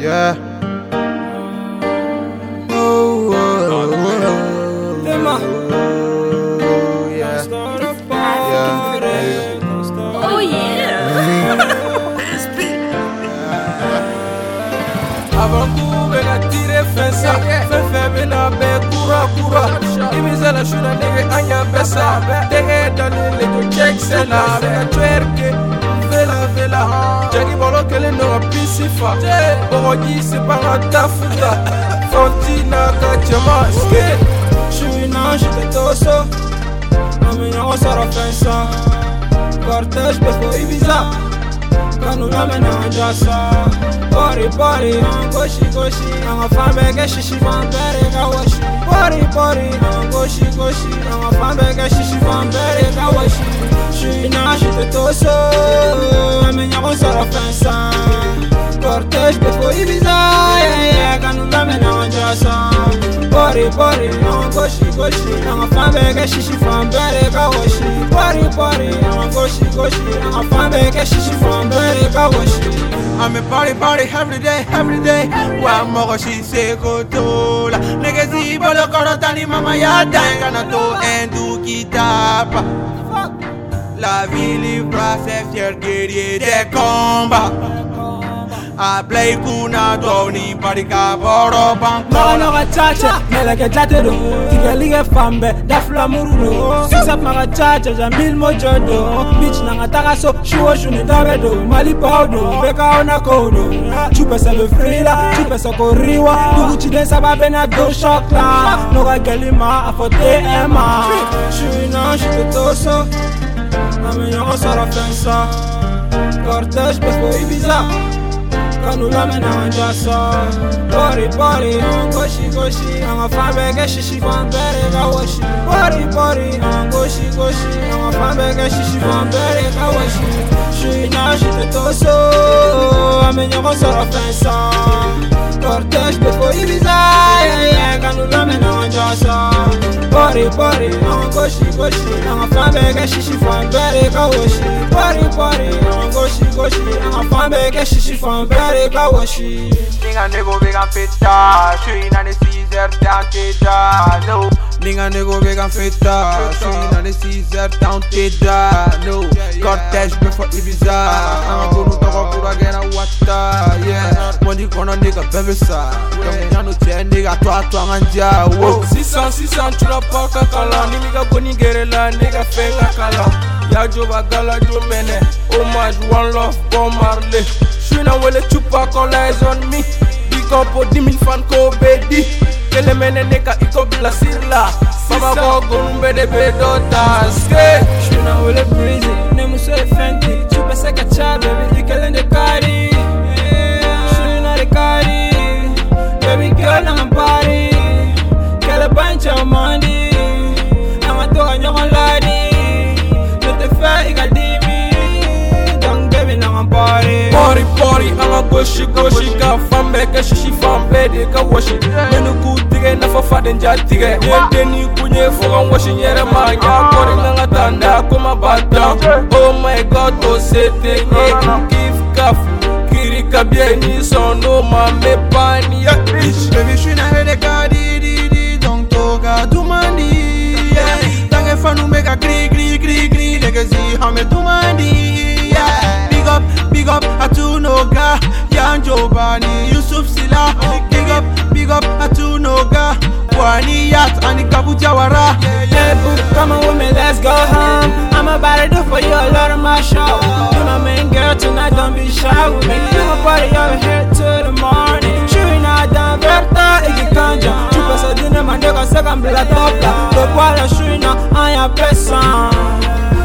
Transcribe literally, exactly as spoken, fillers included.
Yeah. Oh, oh, oh, Tema. oh, yeah. Yeah. Oh yeah. Avant coup, ben a tiré fin ça. Fin fin ben a ben coura coura. Ibiza la shuna nigga anya besa. Dege dani le to check sela. Ben a twerke. Vela vela. Jagi bolo kele no a pisifa. Bogi se para tafuta. Fontina ka chama skate. Shuna shite toso. Amina o sara fin ça. Cortège pesco Ibiza. Kanu ramena jasa. Body, body, I'm goshy, goshy. I'm a fan bag, shishi, fan bag, I wash. Body, body, I'm goshy, goshy. I'm a fan bag, shishi, fan bag, I wash. She now she the torso. I'm in your sort of fence. Cortège before Ibiza, yeah, yeah. Kanu ramena jasa. Body, body, I'm goshy, goshy. I'm a fan bag, shishi, fan bag, I wash. Body, body, I'm goshy, goshy. I'm a fan bag, shishi, fan bag, I wash. I'm a party party every day, every day. Wa mogo shi se kotola. Negezi bolo korotani mama ya danga to endu kitapa. La vie libre c'est fier guerrier des combats. A play kuna doni parika boro bank. Magano ga chacha, mela ke tatero. Tigali ge fambe, da flamuru. Sisa maga chacha, jambil mojodo. Bitch na ngataka so, shuo shuni tabedo. Mali paudo, beka ona kodo. Chupa sa le frila, chupa sa koriwa. Tuguchi den sa babe na do shokla. Noga gelima, afote ema. Shui na shite toso. Ame yongo sara fensa. Cortège pesco Ibiza. Kanu ramena jasa. Body, body, I'm goshy, goshy. I'm a fan bag, shishi, fan bag, I wash. Body, body, I'm goshy, goshy. I'm a fan bag, shishi, fan bag, I wash. She now she the torso. I'm in your sort of fence. Cortège before Ibiza, yeah, yeah. Kanu ramena jasa. Body, body, I'm goshy, goshy. I'm a fan bag, shishi, fan bag, I wash. Body, body, I'm goshy, goshy. I'm a fan bag, shishi, fan bag, I wash. Ninga nego vegan feta, suis dans les six heures t'as no. Ninga nego vegan feta, suis dans les six heures t'as no. Cortège before Ibiza, I'm gonna talk about again a wata, yeah. Money kono nigga bebe sa, yano che nigga toi toi nganja, wo. six cents, six cents, tu la pas kakala, nigga boni gerela, nigga fenga kala. Ya jo bagala jo bene, homage one love, Bob Marley. J'suis dans le chupa quand la on me. Big up pour dix mille fans ko bedi. Kele mene neka iko bila sirla. Baba ko gumbe de bedota. J'suis dans le breezy, ne me sois fenty. Tu peux se cacha baby, ikele de kari. J'suis dans le kari. Baby girl on party. Kele bunch of money. I'm a dog on lady. Je te fais igadimi. Donc baby now I'm party. Party, party, I'm a goshy, goshy. Ka fambe, ka shishi fambe, de ka washi. Nenu ku tige, na fa fa den ja tige. Yente ni kunye, foga washi nyere ma. Ya kore nga tanda, kuma bata. Oh my God, oh sete, ye, kif kaf. Kiri kabye ni sono, ma me pani, ya bitch. Baby, j'suis dans le cas, di di di, donc toga dumandi, yeah. Tange fanu mega gri gri gri gri, negezi hame dumandi, yeah. Big up, big up, Atunoga, Yanjo Bani, Yusuf Sila. Big up, big up, Atunoga, Wani Yat, Ani Kabujawara. Yeah, boo, come on with me, let's go home. I'm about to do for you a lot of my show. You're my main girl tonight, don't be shy with me. You my party over here till the morning. Shooting out down, Berta, Iggy Kanja. Tu passes à dîner, man, nigga, second blood top. Le poil, je suis dans un personne.